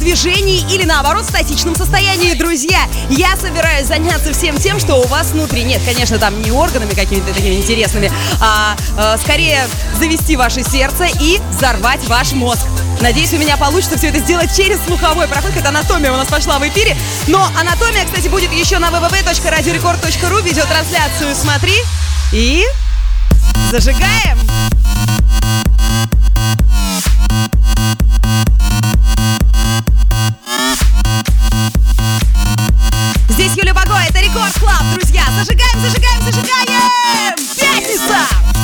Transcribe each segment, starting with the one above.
движении или наоборот в статичном состоянии. Друзья, я собираюсь заняться всем тем, что у вас внутри. Нет, конечно, там не органами какими-то такими интересными, а скорее завести ваше сердце и взорвать ваш мозг. Надеюсь, у меня получится все это сделать через слуховой проход. Это анатомия у нас пошла в эфире. Но анатомия, кстати, будет еще на www.radiorecord.ru. Видеотрансляцию смотри и зажигаем! Здесь Юля Баго, это Рекорд Клаб, друзья. Зажигаем, зажигаем, зажигаем! Пятница!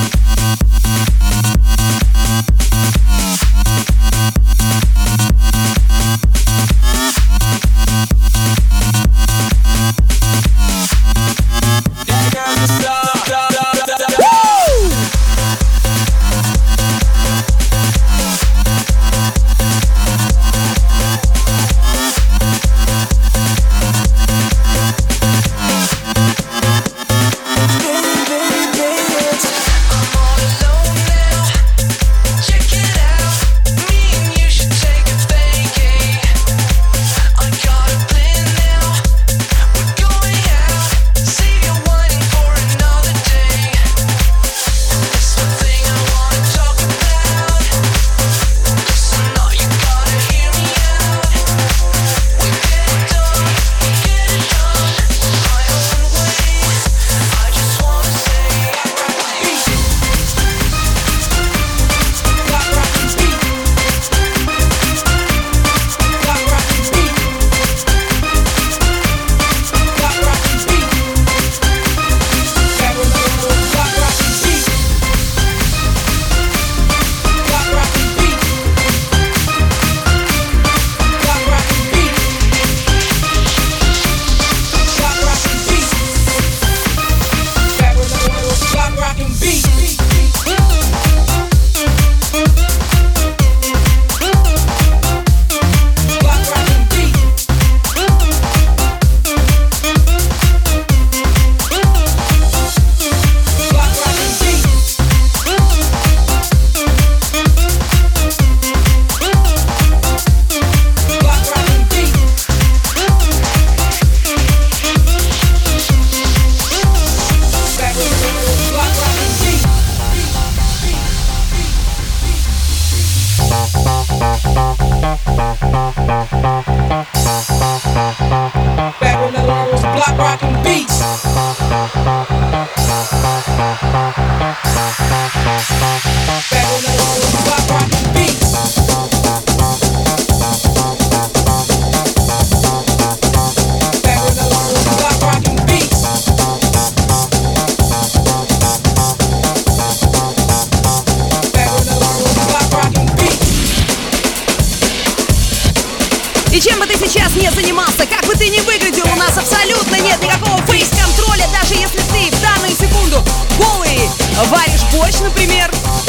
И чем бы ты сейчас не занимался, как бы ты ни выглядел, у нас абсолютно нет никакого фейс-контроля, даже если ты в данную секунду голый варишь борщ, например,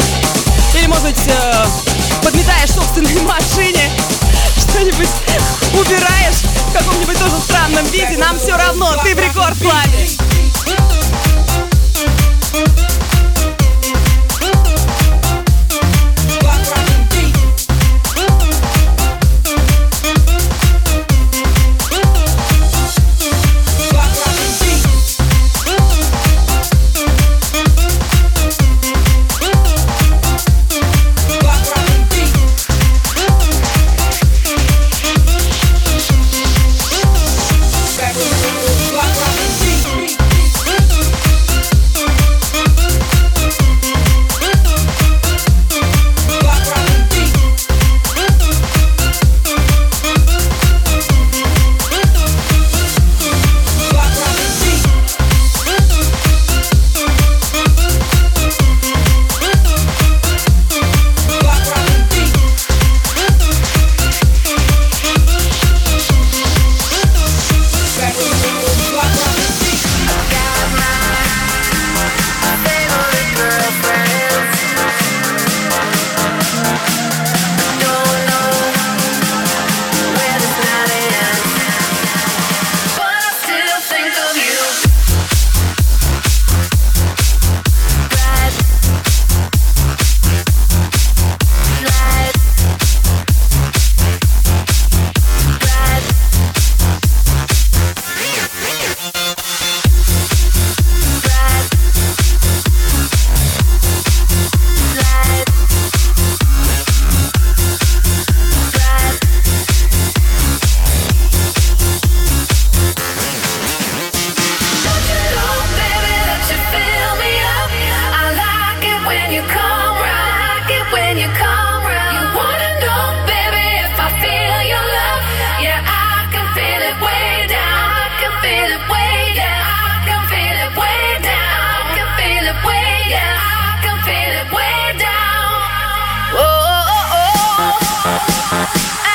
или, может быть, подметаешь в собственной машине, что-нибудь убираешь в каком-нибудь тоже странном виде, нам все равно, ты в Рекорд-клабе. Black Rock and Beat.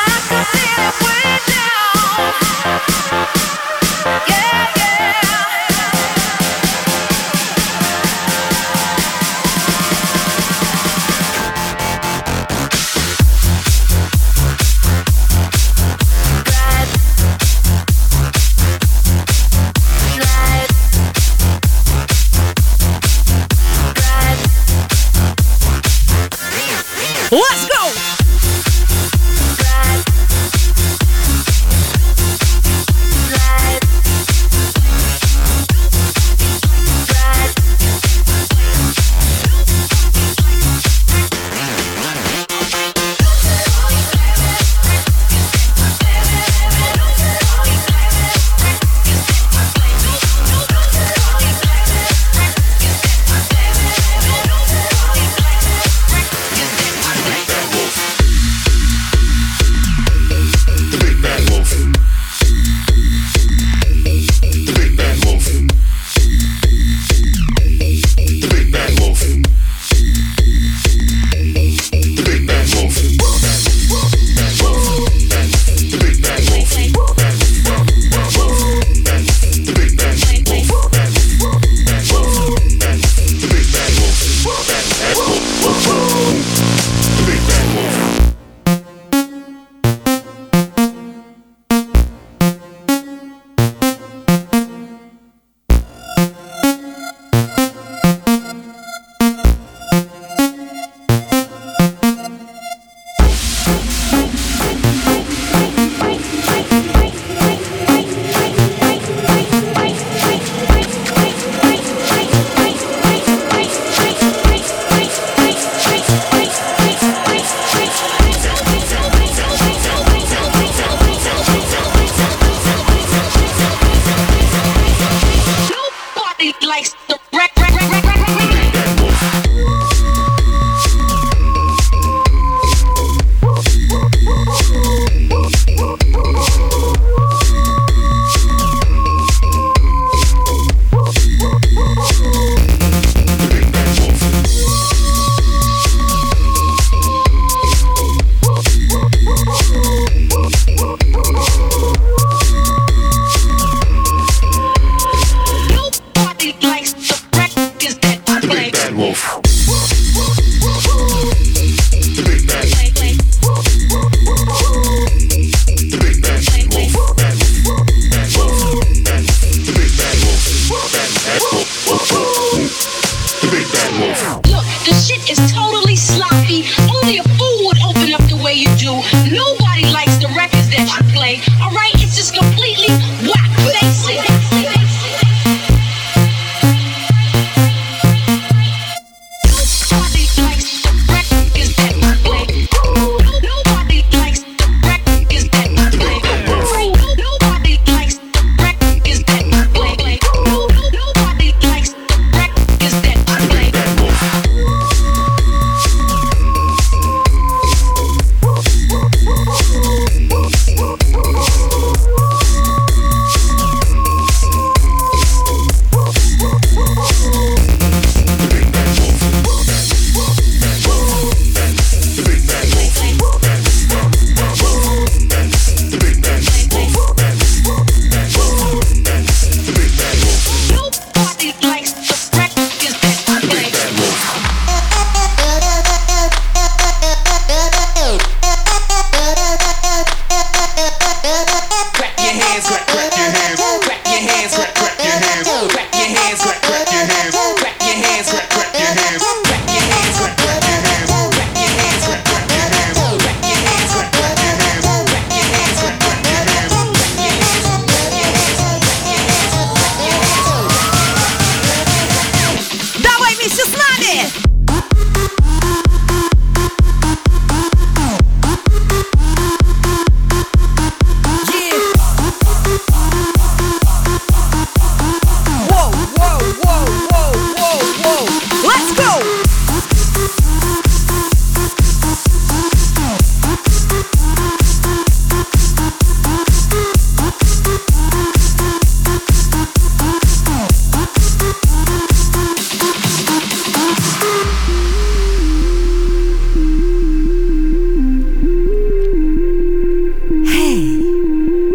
Let's go!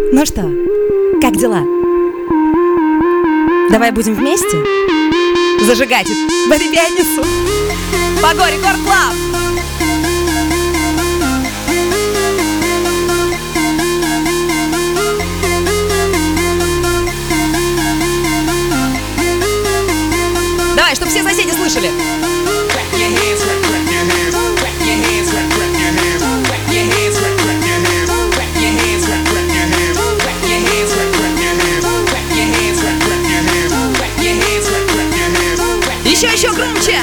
Ну что, как дела? Давай будем вместе зажигать в эту пятницу. Пого, Рекорд Клаб! Давай, чтобы все соседи слышали. Еще громче!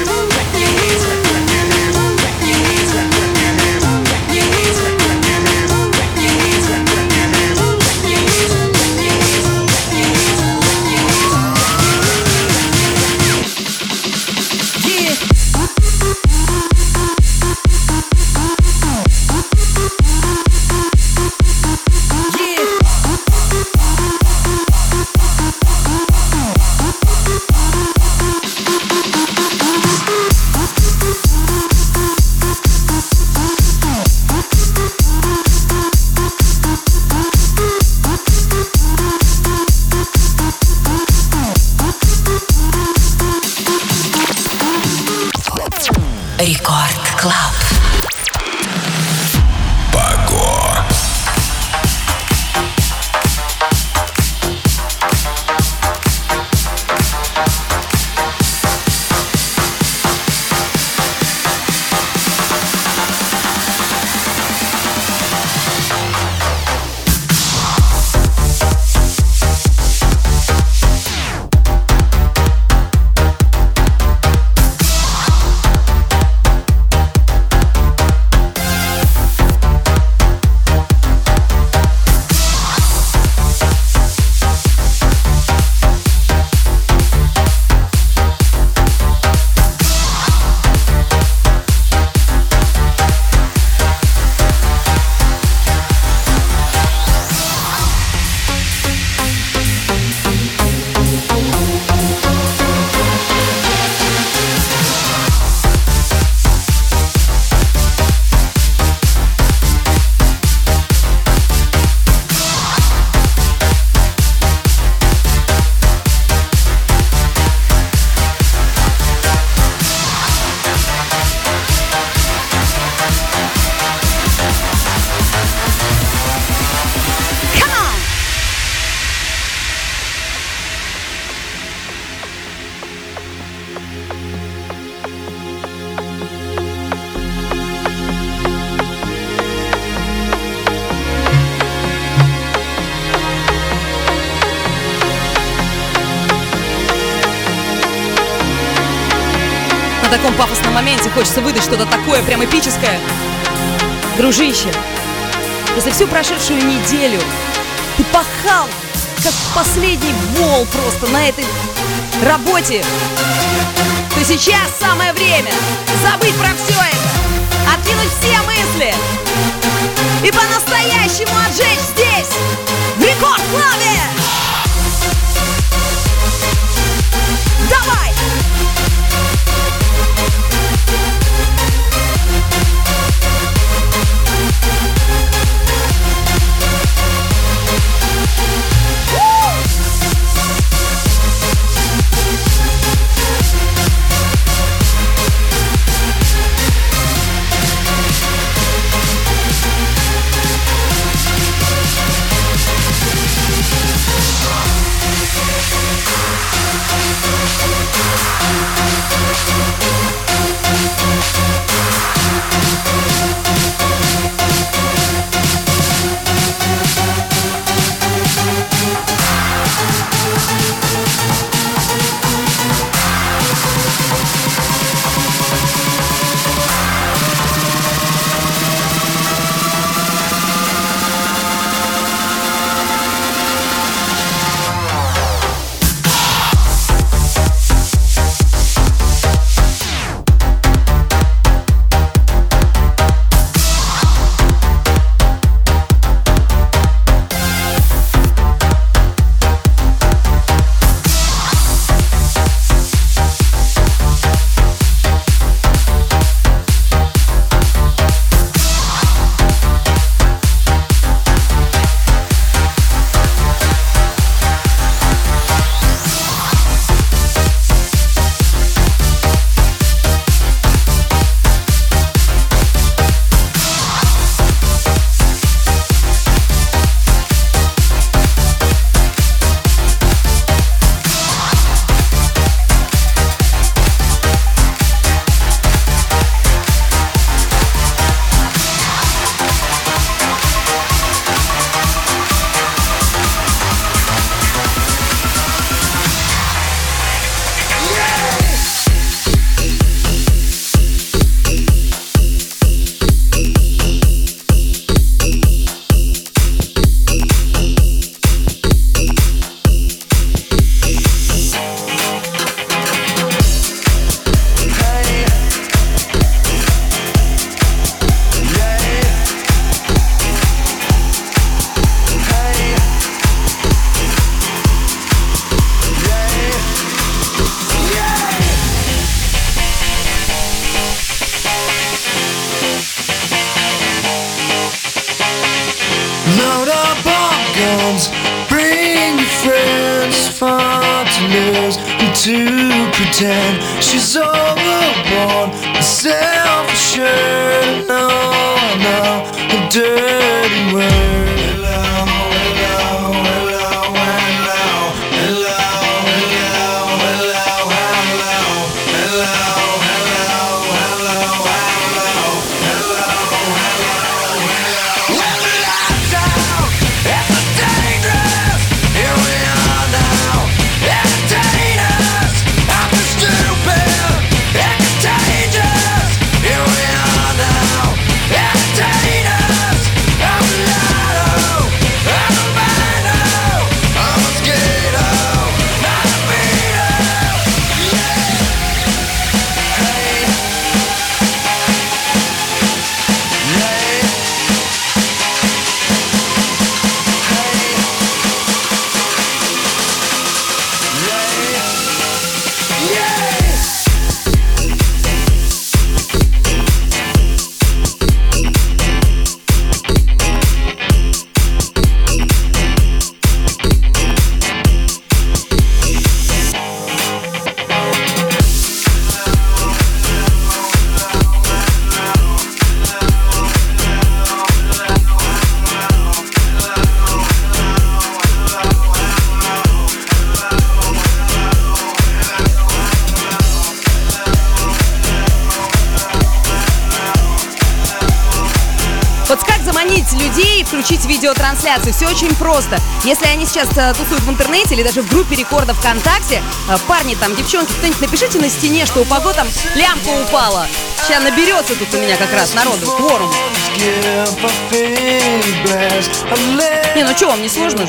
Рекорд Клаб. На таком пафосном моменте хочется выдать что-то такое прям эпическое. Дружище, если всю прошедшую неделю ты пахал, как последний вол просто на этой работе, то сейчас самое время забыть про все это, откинуть все мысли и по-настоящему отжечь здесь, в Рекорд Клабе! Давай! Load up our guns, bring your friends. It's fun to lose and to pretend she's overboard, self-assured. No, I know a dirty word. Людей включить видеотрансляцию. Все очень просто. Если они сейчас тусуют в интернете или даже в группе рекорда ВКонтакте, парни там, девчонки, кто-нибудь напишите на стене, что у Паго там лямка упала. Сейчас наберется тут у меня как раз народу, кворум. Не, ну что, вам не сложно же?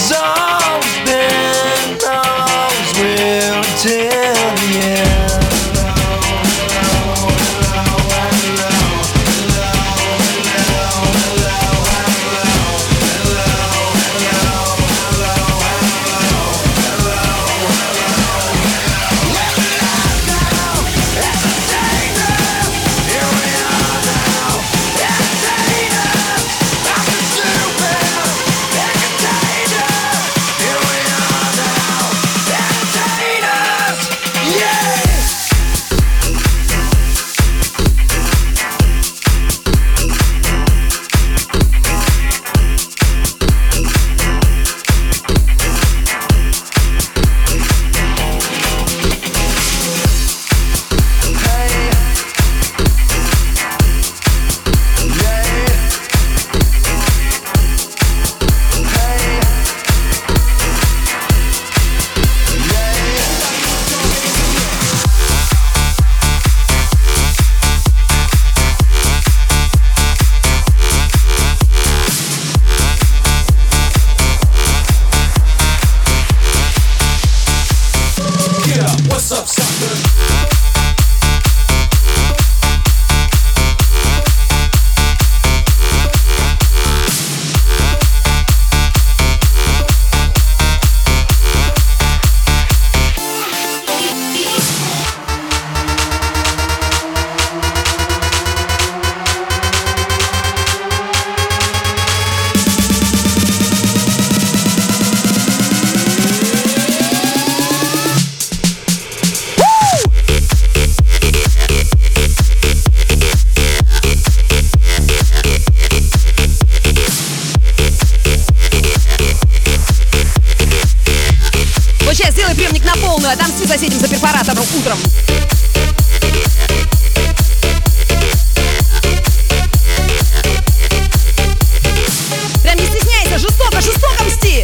Отомсти соседям за перфоратором утром. Прям не стесняйся, жестоко, жестоко мсти.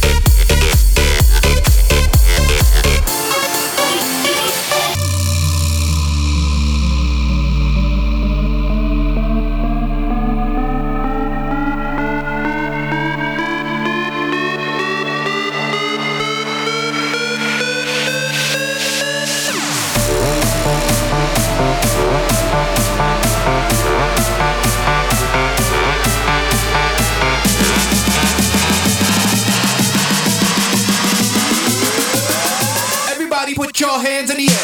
Put your hands in the air.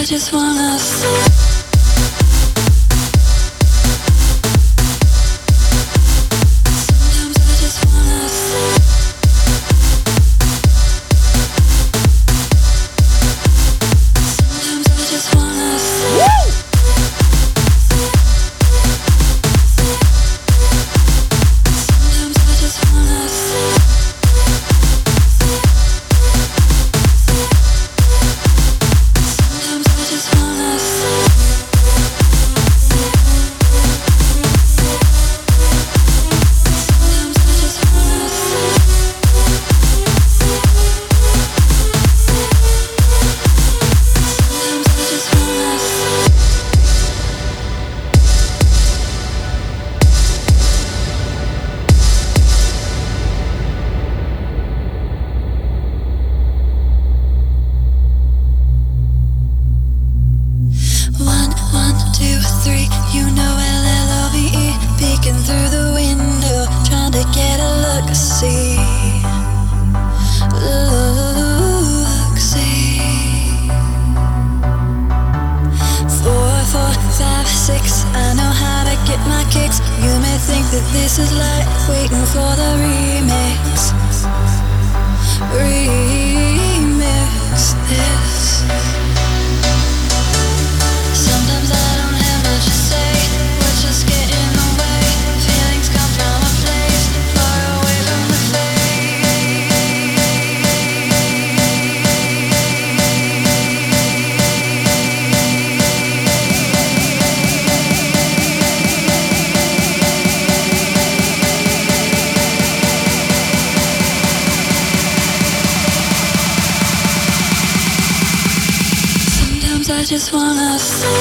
I just wanna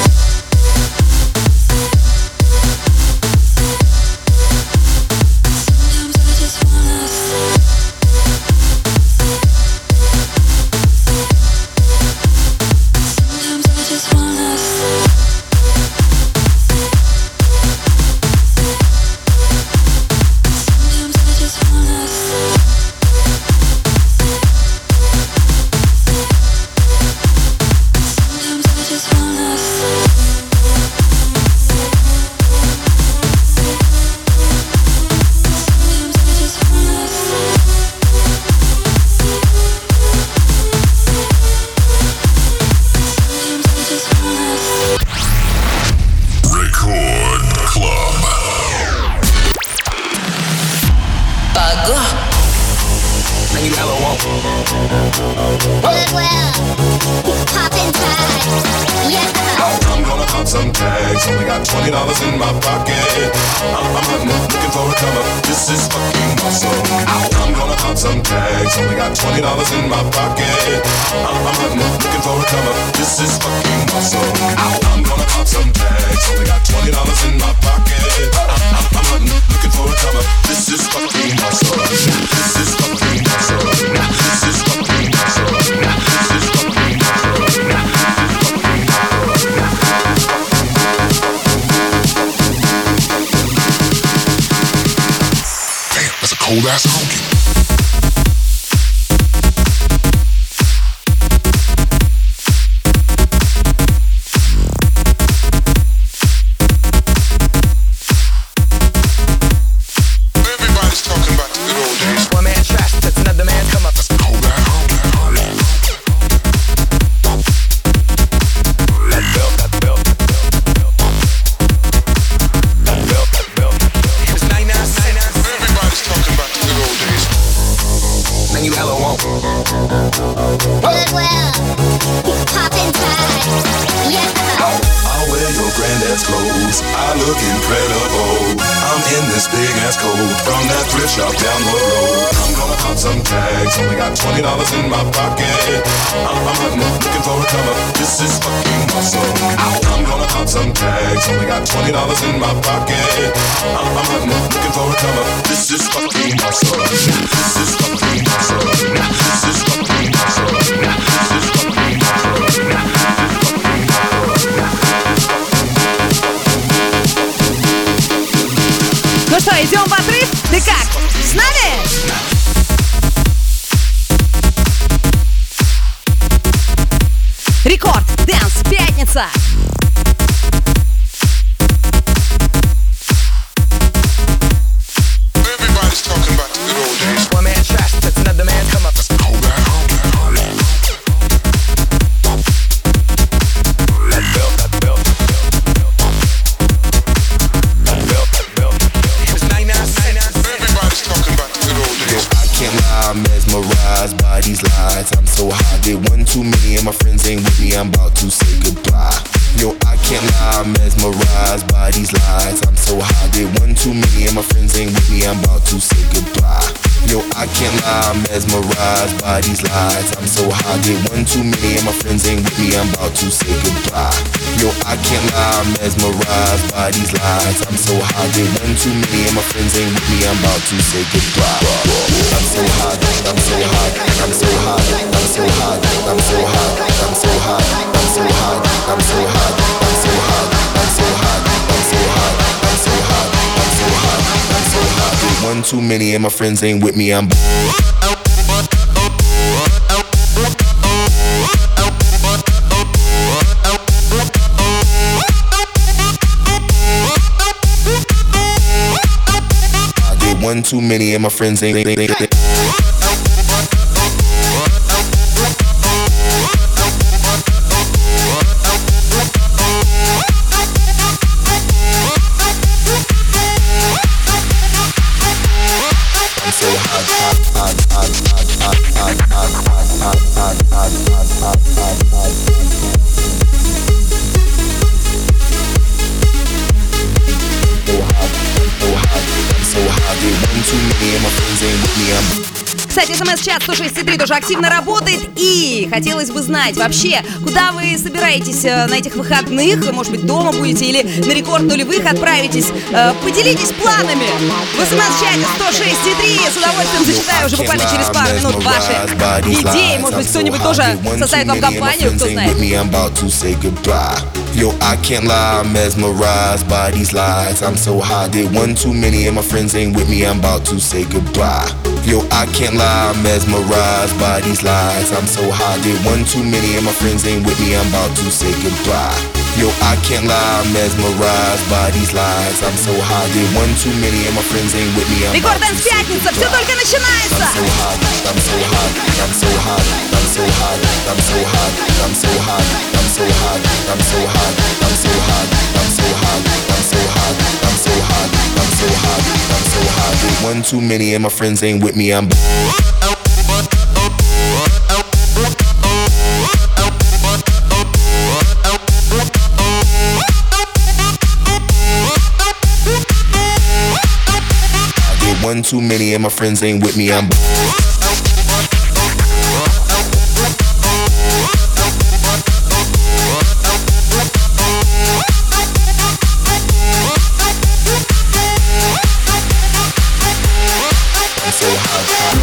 cold ass honky. Everybody's talking about the good old days. One man trash, that's another man come up. Cold ass honky. Everybody's talking about the good old days. Man, you hella won't. Goodwill, poppin' tags, yeah. I'll wear your granddad's clothes, I look incredible. I'm in this big ass coat from that thrift shop down the road. I'm gonna pop some tags, only got $20 in my pocket. I'm hunting, looking for a come up, this is fucking awesome. I'm gonna pop some tags, only got $20 in my pocket. I'm hunting, looking for a come up, this is fucking awesome. This is fucking awesome. This is fucking awesome. This is fucking awesome. Ну что, идем в отрыв? Ты как? С нами? Рекорд Dance can't lie, I'm mesmerized by these lies. I'm so high, did one too many and my friends ain't with me, I'm about to say goodbye. Yo, I can't lie, I'm mesmerized by these lies. I'm so high, did one too many and my friends ain't with me, I'm about to say goodbye. Yo, I can't lie, I'm mesmerized by these lies. I'm so high, did one too many and my friends ain't with me, I'm about to say goodbye. Yo, I can't lie, I'm mesmerized by these lies. I'm so high, did one too many and my friends ain't with me, I'm about to say goodbye. I'm so high, I'm so high, I'm so high, I'm so high, I'm so high, I'm so high, I'm so high, I'm so high, I'm so high, I'm so high, I'm so high, I'm so high, I'm so high, I'm so high. Did one too many and my friends ain't with me, I'm one too many and my friends ain't Кстати, СМС-чат 106.3 тоже активно работает. И хотелось бы знать вообще, куда вы собираетесь на этих выходных? Может быть, дома будете или на рекорд нулевых отправитесь? Поделитесь планами. В СМС-чате 106.3 с удовольствием зачитаю уже буквально через пару минут ваши идеи. Может быть, кто-нибудь тоже составит вам компанию, кто знает. Yo, I can't lie, I'm mesmerized by these lies. I'm so high, did one too many and my friends ain't with me, I'm about to say goodbye. Yo, I can't lie, I'm mesmerized by these lies. I'm so high, did one too many and my friends ain't with me, I'm about to say goodbye. Yo, I can't lie, I'm mesmerized by these lies. I'm so high, did one too many and my friends ain't with me, I'm about to Рекорд say пятница, все goodbye. только начинается. I'm so high, I'm so high, I'm so high, I'm so high, I'm so high, I'm so high, I'm so high, I'm so high, I'm so high, I'm so high, I'm so high, I'm so high, I'm so high, I'm so high. Did one too many and my friends ain't with me, I'm one too many and my friends ain't with me, I'm so high.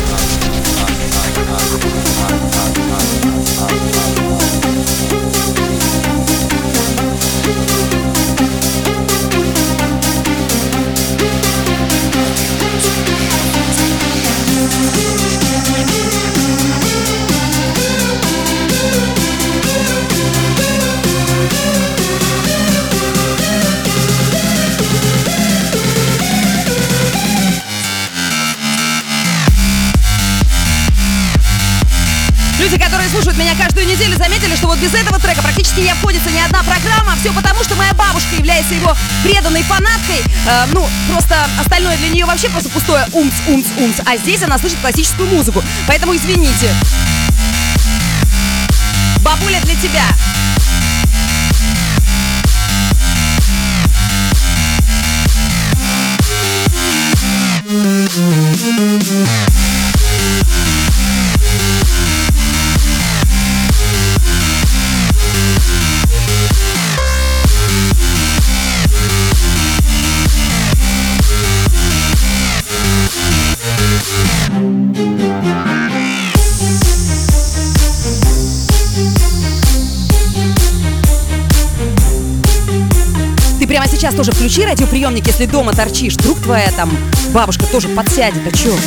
Люди, которые слушают меня каждую неделю, заметили, что вот без этого трека практически не обходится ни одна программа. Все потому, что моя бабушка является его преданной фанаткой. Просто остальное для нее вообще просто пустое умц. А здесь она слышит классическую музыку. Поэтому извините. Бабуля, для тебя. Прямо сейчас тоже включи радиоприемник, если дома торчишь. Вдруг твоя там бабушка тоже подсядет, а чё?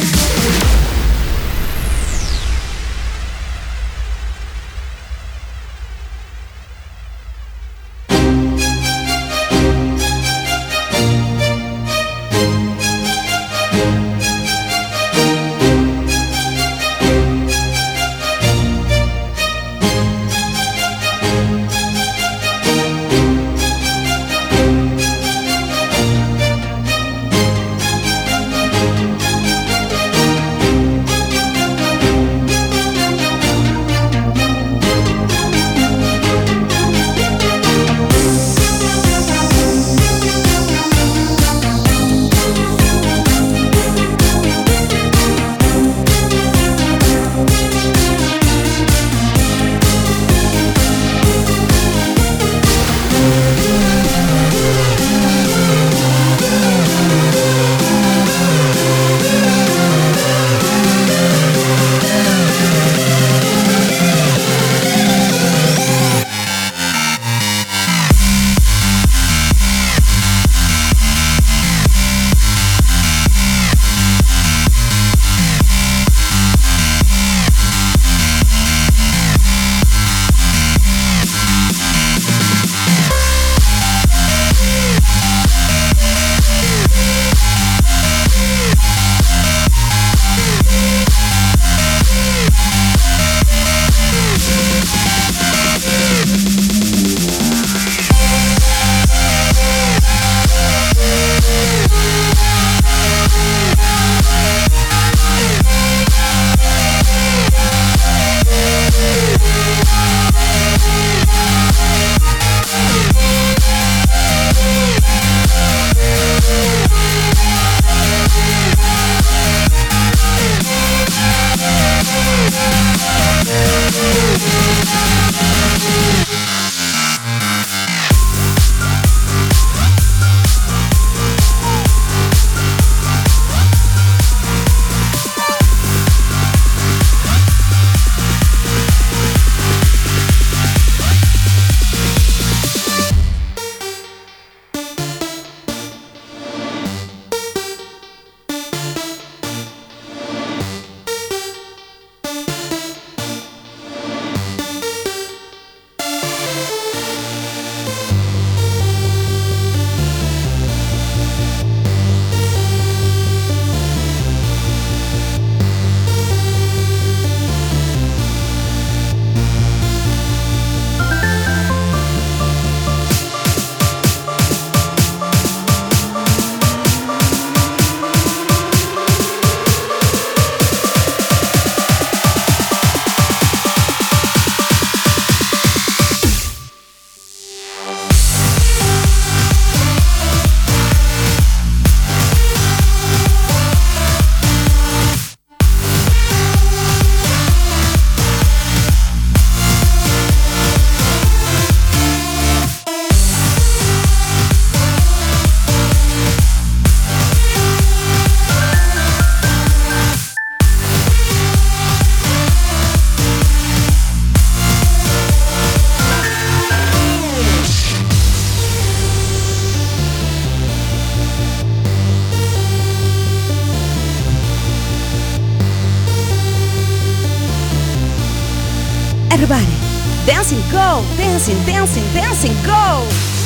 Everybody, dancing, go, dancing, dancing, dancing, go.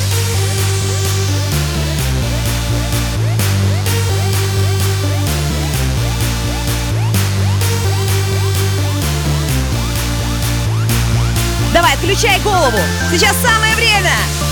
Давай, отключай голову. Сейчас самое время.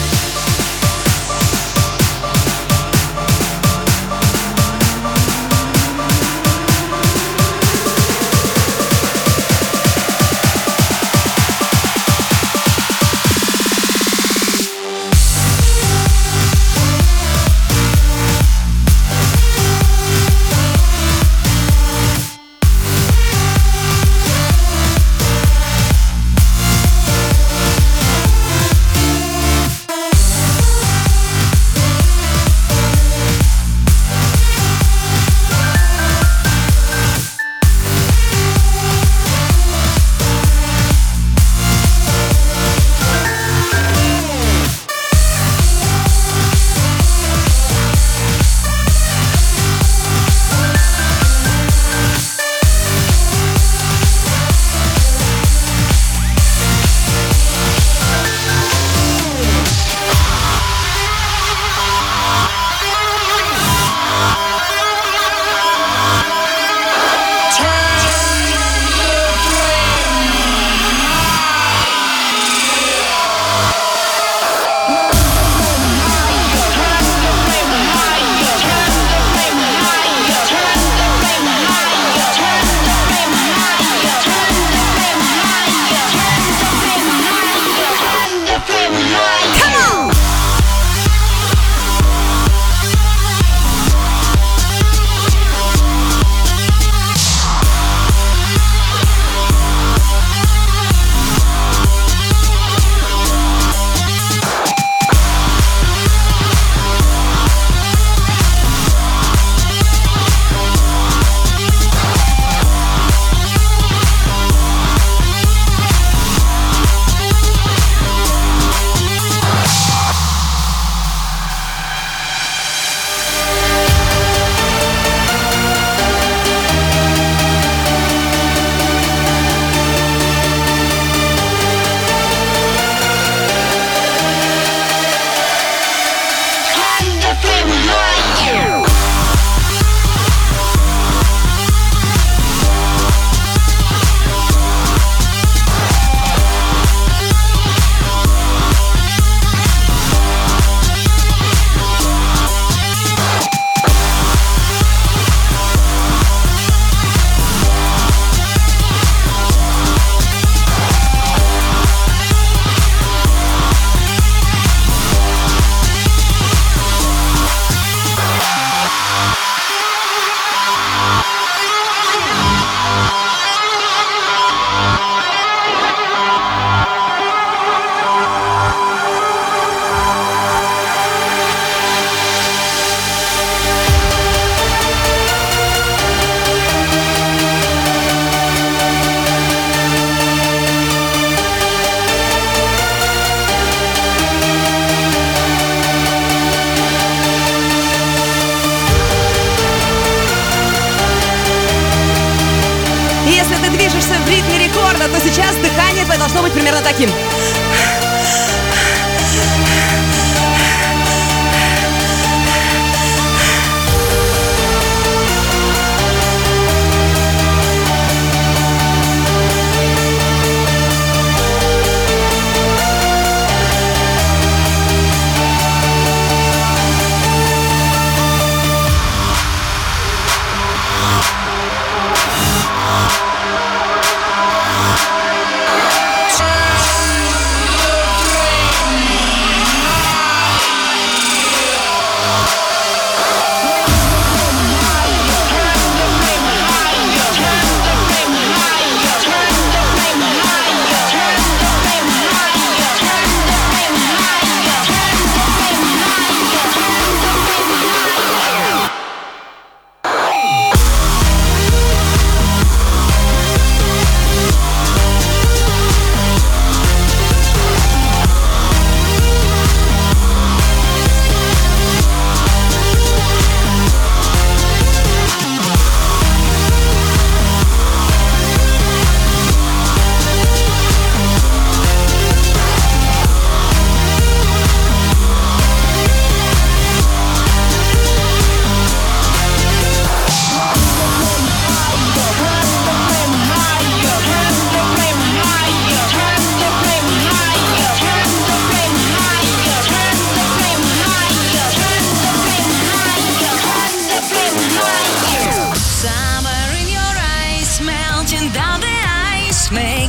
То сейчас дыхание твое должно быть примерно таким.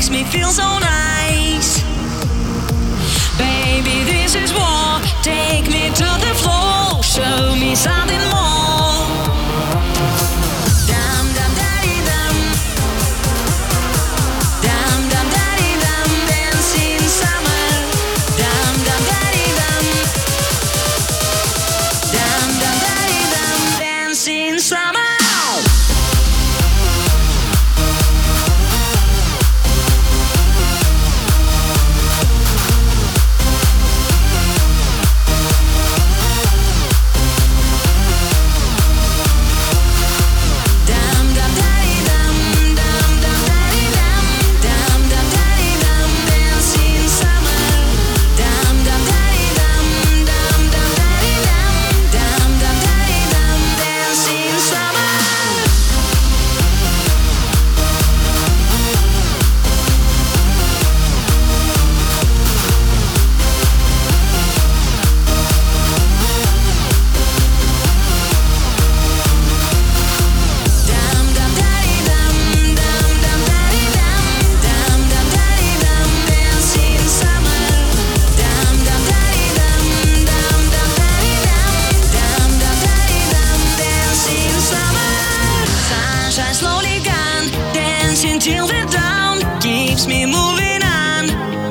makes me feel so nice. Baby, this is war. Take me to the floor. Show me something more. Dum dum daddy dum. Dum dum daddy dum. Dancing summer. Dum dum daddy dum. Dum dum daddy dum. Dancing summer. Till the dawn keeps me moving on.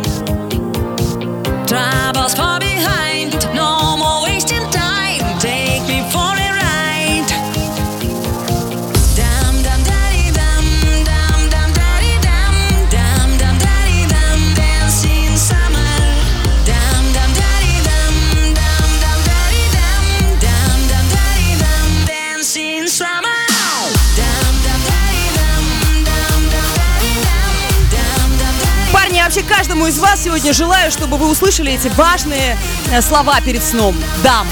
Troubles far behind, no more wasting time. Take me for a ride. Dum dum daddy dum, dum dum daddy dum, dum dum daddy dum, dancing summer. Dum dum daddy dum, dum dum daddy dum, dum dum daddy dum, dancing summer. Парни, я вообще каждому из вас сегодня желаю, чтобы вы услышали эти важные слова перед сном. Дам.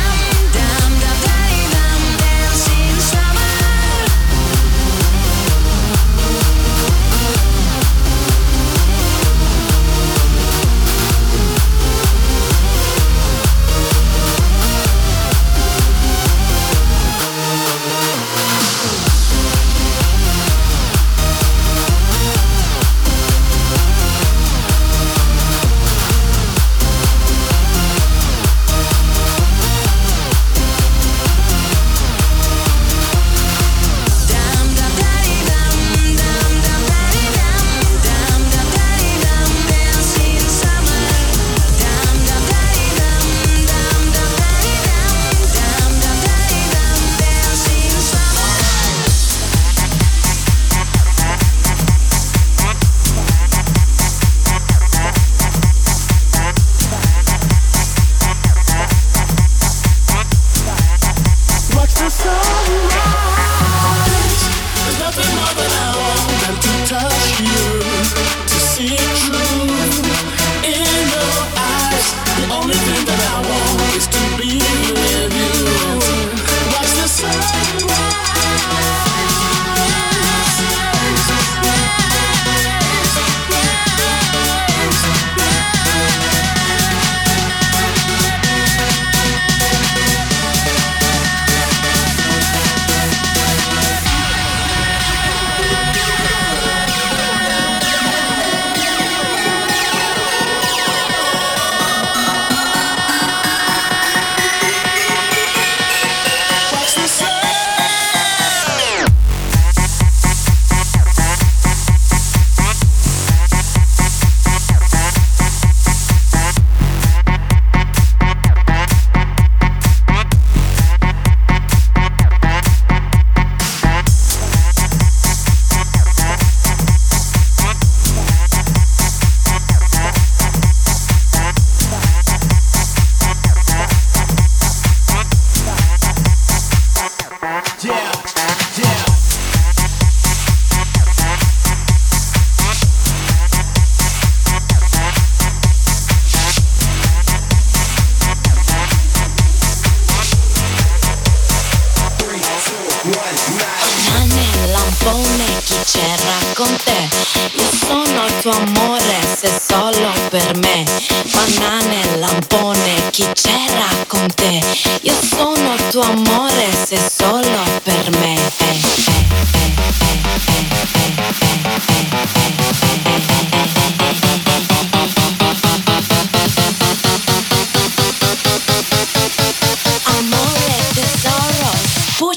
con te. Io sono il tuo amore se solo per me. Banane, lampone, chi c'era con te? Io sono il tuo amore se solo per me.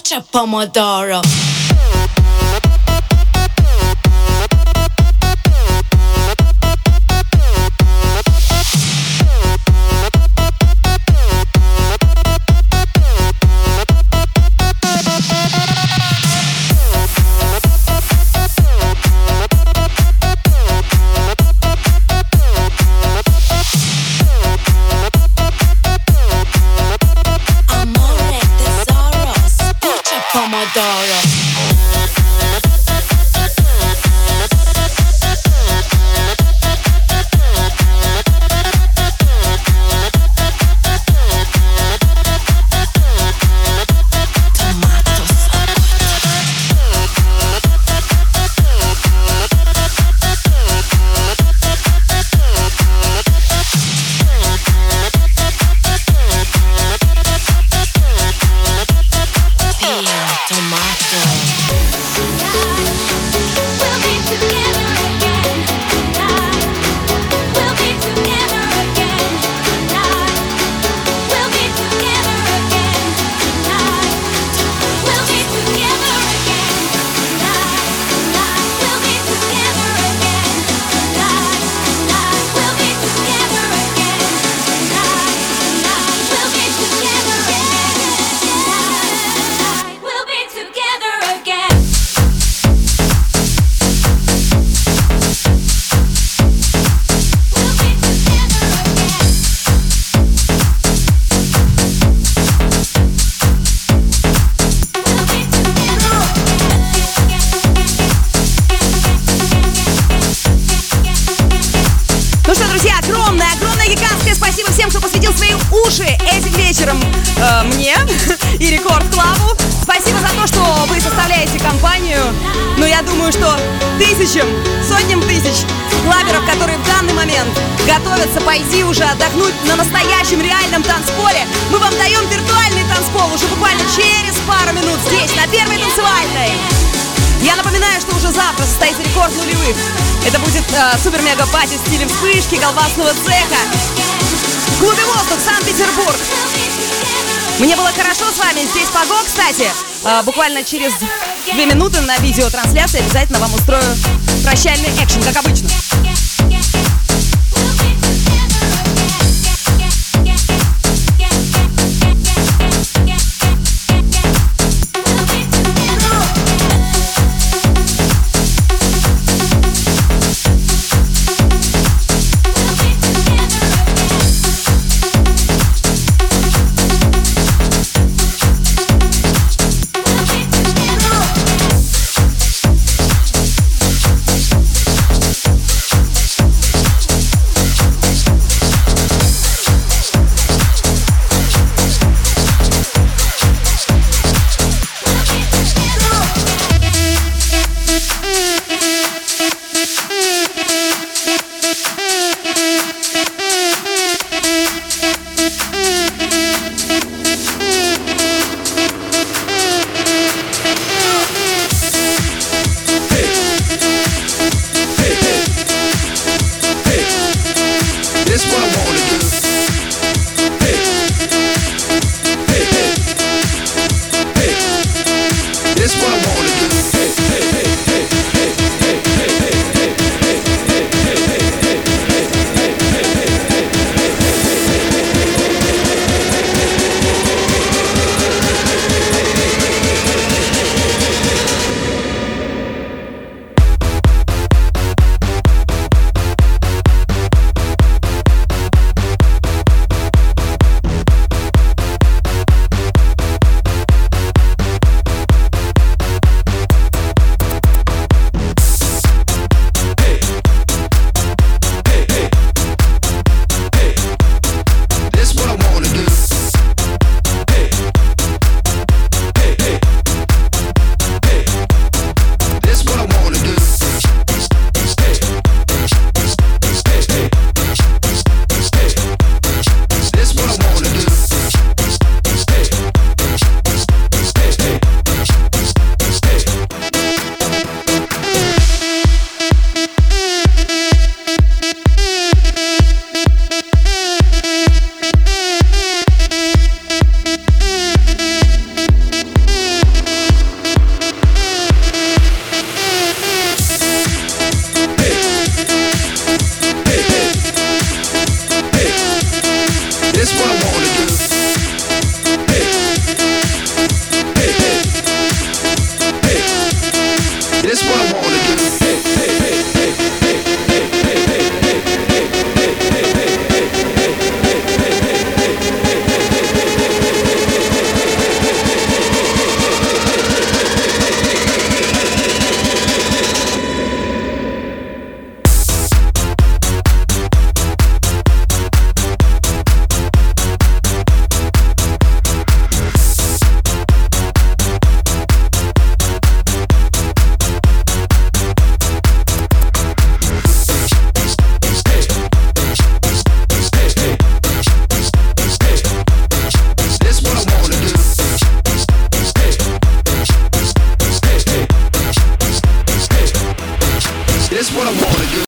spiccia pomodoro. Amore, tesoro, spiccia pomodoro. Tomato tomato. We'll be together again tonight. We'll be together again tonight. We'll be together again tonight. We'll be together again tonight. We'll be together again tonight. We'll be together again tonight. We'll be together again. We'll be together again. We'll be together again. We'll be Ну что, друзья, огромное, гигантское спасибо всем, кто посвятил свои уши этим вечером мне и Рекорд Клабу. Спасибо за то, что вы составляете компанию. Но я думаю, что сотням тысяч клаберов, которые в данный момент готовятся пойти уже отдохнуть на настоящем реальном танцполе, мы вам даем виртуальный танцпол уже буквально через пару минут здесь, на Первой танцевальной. Я напоминаю, что уже завтра состоится рекорд нулевых. Это будет супер-мега-пати в стиле вспышки, колбасного цеха. В клубе «Воздух», Санкт-Петербург. Мне было хорошо с вами. Здесь Паго, кстати. Буквально через 2 минуты на видеотрансляции обязательно вам устрою прощальный экшен, как обычно.